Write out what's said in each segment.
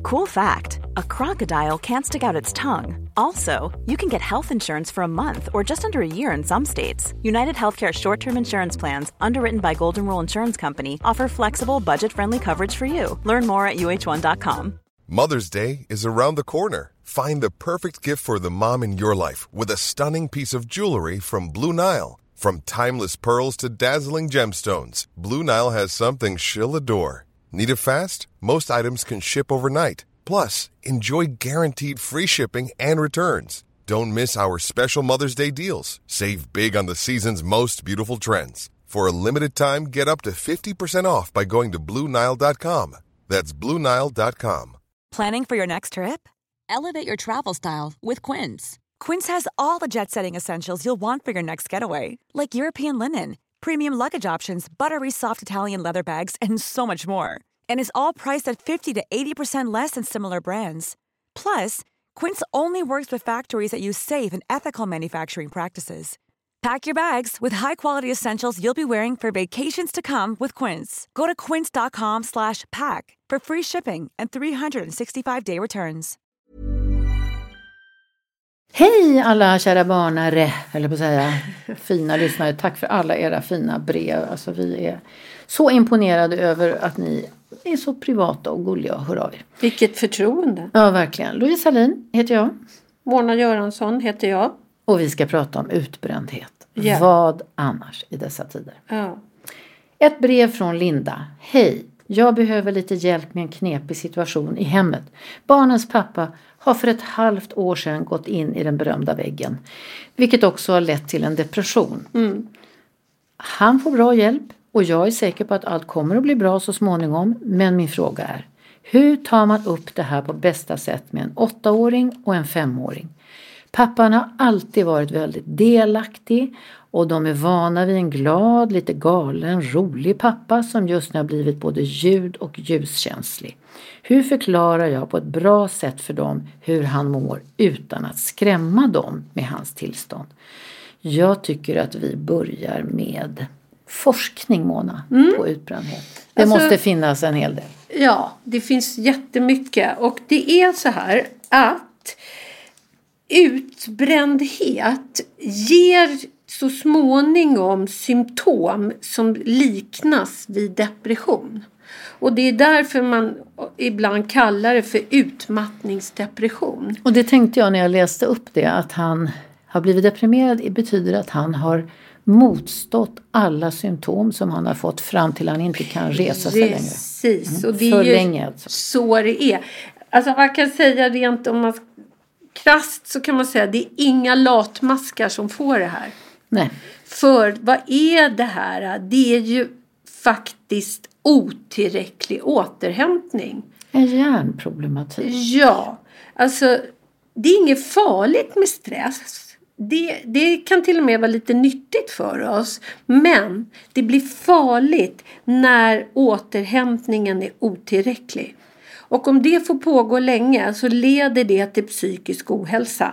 Cool fact, a crocodile can't stick out its tongue. Also, you can get health insurance for a month or just under a year in some states. United Healthcare short-term insurance plans, underwritten by Golden Rule Insurance Company, offer flexible, budget-friendly coverage for you. Learn more at uh1.com. Mother's Day is around the corner. Find the perfect gift for the mom in your life with a stunning piece of jewelry from Blue Nile. From timeless pearls to dazzling gemstones, Blue Nile has something she'll adore. Need it fast? Most items can ship overnight. Plus, enjoy guaranteed free shipping and returns. Don't miss our special Mother's Day deals. Save big on the season's most beautiful trends. For a limited time, get up to 50% off by going to BlueNile.com. That's BlueNile.com. Planning for your next trip? Elevate your travel style with Quince. Quince has all the jet-setting essentials you'll want for your next getaway, like European linen, premium luggage options, buttery soft Italian leather bags, and so much more. And is all priced at 50 to 80% less than similar brands. Plus, Quince only works with factories that use safe and ethical manufacturing practices. Pack your bags with high-quality essentials you'll be wearing for vacations to come with Quince. Go to quince.com/pack for free shipping and 365-day returns. Hej alla kära barnare, eller på att säga fina lyssnare. Tack för alla era fina brev. Alltså vi är så imponerade över att ni är så privata och gulliga. Hör av er. Vilket förtroende. Ja, verkligen. Louise Hallin heter jag. Mona Göransson heter jag. Och vi ska prata om utbrändhet. Ja. Vad annars i dessa tider? Ja. Ett brev från Linda. Hej, jag behöver lite hjälp med en knepig situation i hemmet. Barnens pappa har för ett halvt år sedan gått in i den berömda väggen. Vilket också har lett till en depression. Han får bra hjälp och jag är säker på att allt kommer att bli bra så småningom. Men min fråga är, hur tar man upp det här på bästa sätt med en 8-åring och en 5-åring? Pappan har alltid varit väldigt delaktig och de är vana vid en glad, lite galen, rolig pappa som just nu har blivit både ljud- och ljuskänslig. Hur förklarar jag på ett bra sätt för dem hur han mår utan att skrämma dem med hans tillstånd? Jag tycker att vi börjar med forskning, Mona, på utbrändhet. Det måste finnas en hel del. Ja, det finns jättemycket. Och det är så här att utbrändhet ger så småningom symptom som liknas vid depression. Och det är därför man ibland kallar det för utmattningsdepression. Och det tänkte jag när jag läste upp det, att han har blivit deprimerad. Det betyder att han har motstått alla symptom som han har fått fram till han inte kan resa sig längre. Precis, och det för är ju länge alltså. Så det är. Alltså man kan säga rent om man krasst så kan man säga att det är inga latmaskar som får det här. Nej. För vad är det här? Det är ju faktiskt otillräcklig återhämtning. En hjärnproblematik. Ja, alltså det är inget farligt med stress. Det kan till och med vara lite nyttigt för oss. Men det blir farligt när återhämtningen är otillräcklig. Och om det får pågå länge så leder det till psykisk ohälsa.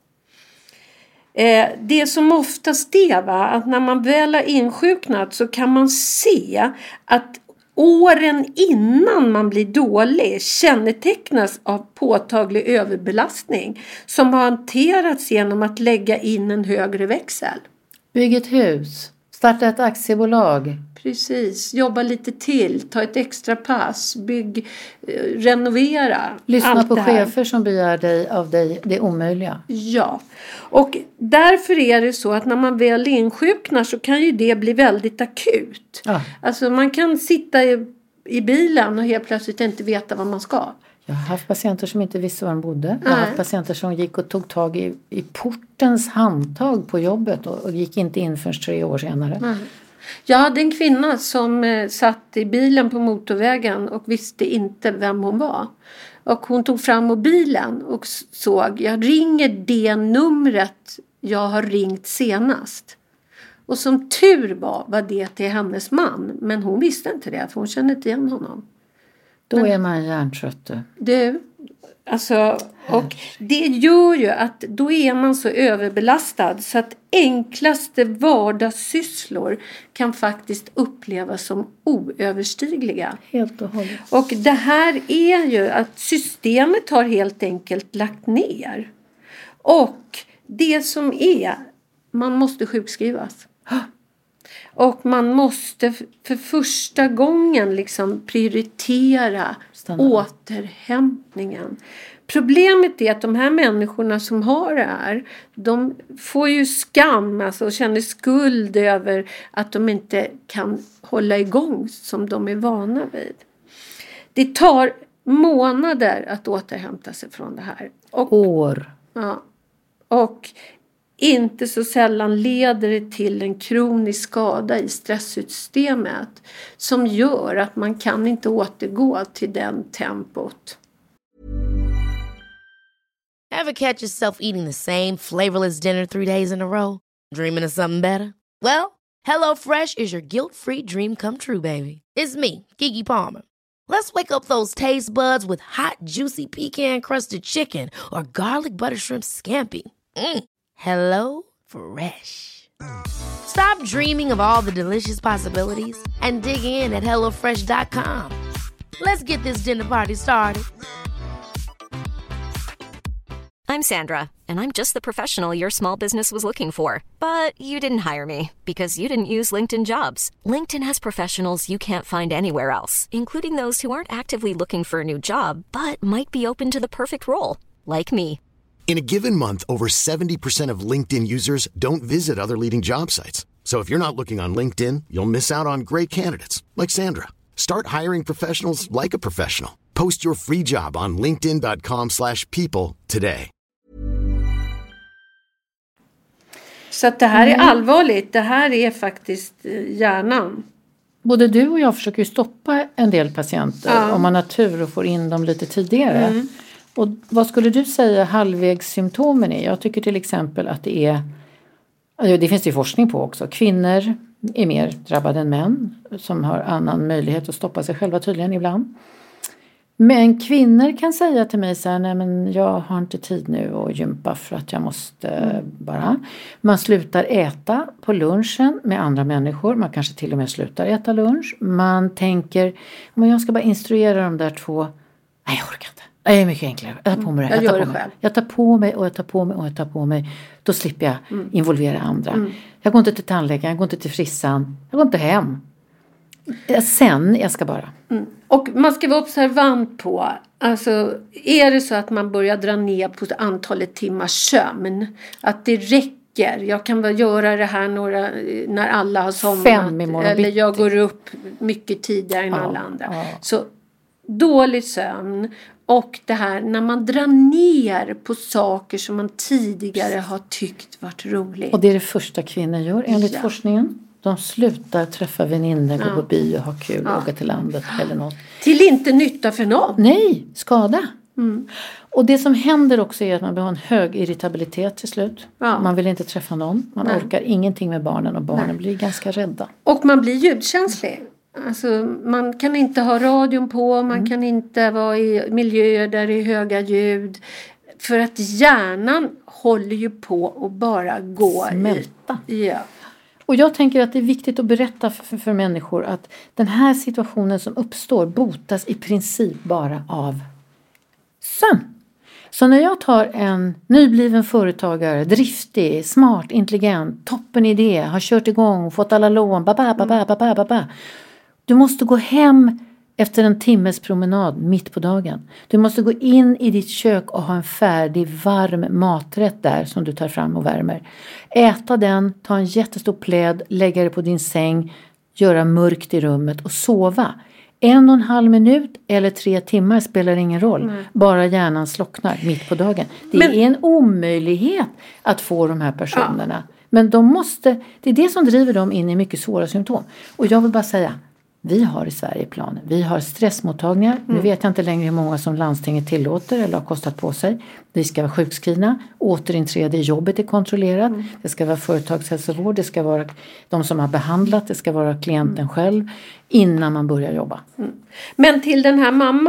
Det som oftast är att när man väl har insjuknat så kan man se att åren innan man blir dålig kännetecknas av påtaglig överbelastning som har hanterats genom att lägga in en högre växel. Bygg ett hus. Starta ett aktiebolag. Precis, jobba lite till, ta ett extra pass, renovera. Lyssna på chefer som begär av dig det omöjliga. Ja, och därför är det så att när man väl insjuknar så kan ju det bli väldigt akut. Ja. Alltså man kan sitta i bilen och helt plötsligt inte veta vad man ska. Jag har haft patienter som inte visste var de bodde. Jag har haft patienter som gick och tog tag i portens handtag på jobbet och gick inte in förrän 3 år senare. Mm. Jag hade en kvinna som satt i bilen på motorvägen och visste inte vem hon var. Och hon tog fram mobilen och såg, jag ringer det numret jag har ringt senast. Och som tur var det till hennes man. Men hon visste inte det, för hon kände inte igen honom. Då är man hjärntrött. Du, Alltså, och det gör ju att då är man så överbelastad så att enklaste vardagssysslor kan faktiskt upplevas som oöverstigliga. Helt och hållet. Och det här är ju att systemet har helt enkelt lagt ner. Och det som är, man måste sjukskrivas. Och man måste för första gången liksom prioritera återhämtningen. Problemet är att de här människorna som har det här, de får ju skam alltså, och känner skuld över att de inte kan hålla igång som de är vana vid. Det tar månader att återhämta sig från det här. Och, år. Ja, och inte så sällan leder det till en kronisk skada i stresssystemet som gör att man kan inte återgå till den tempot. Ever catch yourself eating the same flavorless dinner 3 days in a row? Dreaming of something better? Well, HelloFresh is your guilt-free dream come true, baby. It's me, Keke Palmer. Let's wake up those taste buds with hot, juicy pecan-crusted chicken or garlic butter shrimp scampi. Hello Fresh. Stop dreaming of all the delicious possibilities and dig in at HelloFresh.com. Let's get this dinner party started. I'm Sandra, and I'm just the professional your small business was looking for. But you didn't hire me because you didn't use LinkedIn Jobs. LinkedIn has professionals you can't find anywhere else, including those who aren't actively looking for a new job, but might be open to the perfect role, like me. In a given month, over 70% of LinkedIn users don't visit other leading job sites. So if you're not looking on LinkedIn, you'll miss out on great candidates like Sandra. Start hiring professionals like a professional. Post your free job on linkedin.com/people today. Så att det här är allvarligt. Det här är faktiskt hjärnan. Både du och jag försöker ju stoppa en del patienter om man har tur och får in dem lite tidigare. Och vad skulle du säga halvvägssymptomen är? Jag tycker till exempel att det är, det finns ju forskning på också, kvinnor är mer drabbade än män som har annan möjlighet att stoppa sig själva tydligen ibland. Men kvinnor kan säga till mig så här, nej men jag har inte tid nu att gympa för att jag måste bara. Man slutar äta på lunchen med andra människor. Man kanske till och med slutar äta lunch. Man tänker, men jag ska bara instruera de där två. Nej, jag orkar inte. Det är mycket enklare. Jag tar på mig det. Jag gör det själv. Jag tar på mig och jag tar på mig och jag tar på mig. Då slipper jag involvera andra. Jag går inte till tandläkaren, jag går inte till frissan. Jag går inte hem. Sen, jag ska bara. Och man ska vara observant på, alltså är det så att man börjar dra ner på antalet timmars sömn, att det räcker, jag kan väl göra det här när alla har somnat, eller jag går upp mycket tidigare än alla andra. Så dålig sömn och det här när man drar ner på saker som man tidigare har tyckt varit roligt. Och det är det första kvinnor gör enligt forskningen. De slutar träffa väninnor, gå på bio, ha kul, åka till landet eller något. Till inte nytta för någon. Nej, skada. Och det som händer också är att man behöver en hög irritabilitet till slut. Man vill inte träffa någon. Man orkar ingenting med barnen och barnen blir ganska rädda. Och man blir ljudkänslig. Alltså, man kan inte ha radion på, man kan inte vara i miljöer där det är höga ljud. För att hjärnan håller ju på att bara gå smälta. Ja. Och jag tänker att det är viktigt att berätta för människor att den här situationen som uppstår botas i princip bara av sömn. Så när jag tar en nybliven företagare, driftig, smart, intelligent, toppen idé, har kört igång, fått alla lån, du måste gå hem efter en timmes promenad mitt på dagen. Du måste gå in i ditt kök och ha en färdig varm maträtt där som du tar fram och värmer. Äta den, ta en jättestor pläd, lägga det på din säng, göra mörkt i rummet och sova. 1,5 minut eller 3 timmar spelar ingen roll. Bara hjärnan slocknar mitt på dagen. Det är en omöjlighet att få de här personerna. Men det är det som driver dem in i mycket svåra symptom. Och jag vill bara säga, vi har i Sverige planer. Vi har stressmottagningar. Nu vet jag inte längre hur många som landstinget tillåter eller har kostat på sig. Vi ska vara sjukskrivna. Återinträde i jobbet är kontrollerat. Det ska vara företagshälsovård. Det ska vara de som har behandlat. Det ska vara klienten själv innan man börjar jobba. Men till den här mamman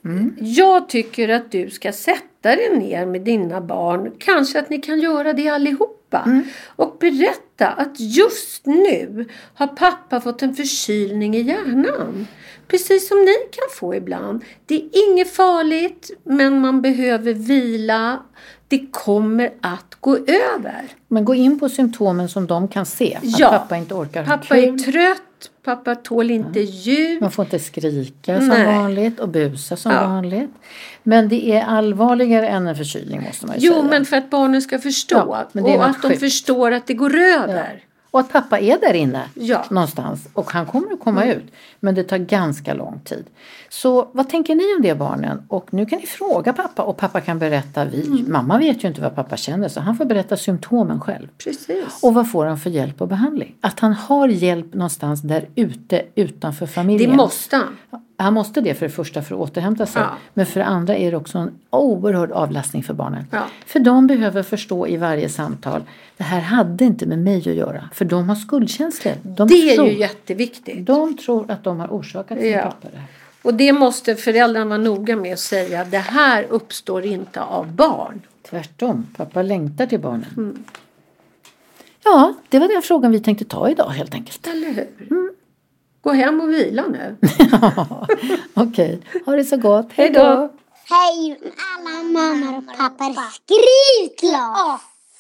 Jag tycker att du ska sätta dig ner med dina barn. Kanske att ni kan göra det allihopa. Och berätta att just nu har pappa fått en förkylning i hjärnan. Precis som ni kan få ibland. Det är inget farligt, men man behöver vila. Det kommer att gå över. Men gå in på symptomen som de kan se. Att pappa inte orkar ha pappa kul. är trött. Pappa tål inte ljud. Man får inte skrika som vanligt och busa som vanligt. Men det är allvarligare än en förkylning, måste man ju säga. Jo, men för att barnen ska förstå. Men det är och att de förstår att det går över. Ja. Och att pappa är där inne någonstans. Och han kommer att komma ut. Men det tar ganska lång tid. Så vad tänker ni om det, barnen? Och nu kan ni fråga pappa. Och pappa kan berätta. Mamma vet ju inte vad pappa känner. Så han får berätta symptomen själv. Precis. Och vad får han för hjälp och behandling? Att han har hjälp någonstans där ute utanför familjen. Det måste han. Han måste det för det första för att återhämta sig. Ja. Men för det andra är det också en oerhörd avlastning för barnen. Ja. För de behöver förstå i varje samtal. Det här hade inte med mig att göra. För de har skuldkänslor. Det är ju jätteviktigt. De tror att de har orsakat sin pappa det här. Och det måste föräldrarna vara noga med att säga. Det här uppstår inte av barn. Tvärtom. Pappa längtar till barnen. Ja, det var den frågan vi tänkte ta idag helt enkelt. Eller hur? Gå hem och vila nu. Okej. Ha det så gott. Hej då. Hej alla mammor och pappor. Skriv klart.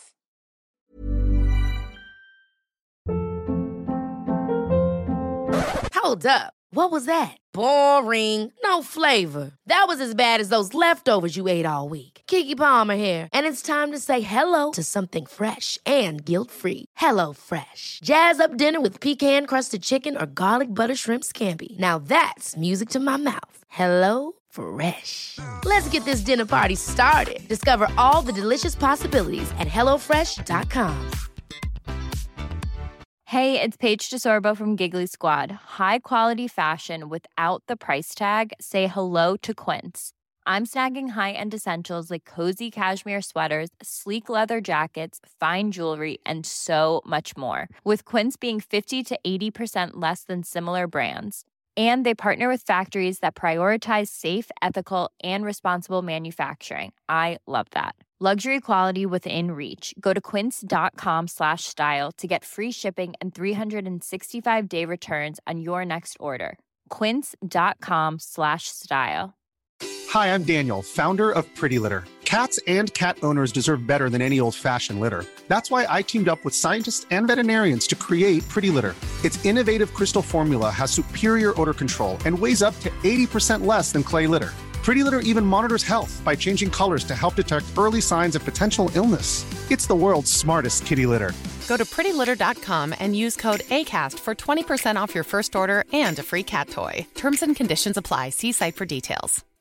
Hold up. What was that? Boring. No flavor. That was as bad as those leftovers you ate all week. Keke Palmer here. And it's time to say hello to something fresh and guilt-free. Hello Fresh. Jazz up dinner with pecan-crusted chicken or garlic butter shrimp scampi. Now that's music to my mouth. Hello Fresh. Let's get this dinner party started. Discover all the delicious possibilities at HelloFresh.com. Hey, it's Paige DeSorbo from Giggly Squad. High quality fashion without the price tag. Say hello to Quince. I'm snagging high-end essentials like cozy cashmere sweaters, sleek leather jackets, fine jewelry, and so much more. With Quince being 50 to 80% less than similar brands. And they partner with factories that prioritize safe, ethical, and responsible manufacturing. I love that. Luxury quality within reach. Go to quince.com/style to get free shipping and 365-day returns on your next order. Quince.com/style. Hi, I'm Daniel, founder of Pretty Litter. Cats and cat owners deserve better than any old-fashioned litter. That's why I teamed up with scientists and veterinarians to create Pretty Litter. Its innovative crystal formula has superior odor control and weighs up to 80% less than clay litter. Pretty Litter even monitors health by changing colors to help detect early signs of potential illness. It's the world's smartest kitty litter. Go to prettylitter.com and use code ACAST for 20% off your first order and a free cat toy. Terms and conditions apply. See site for details.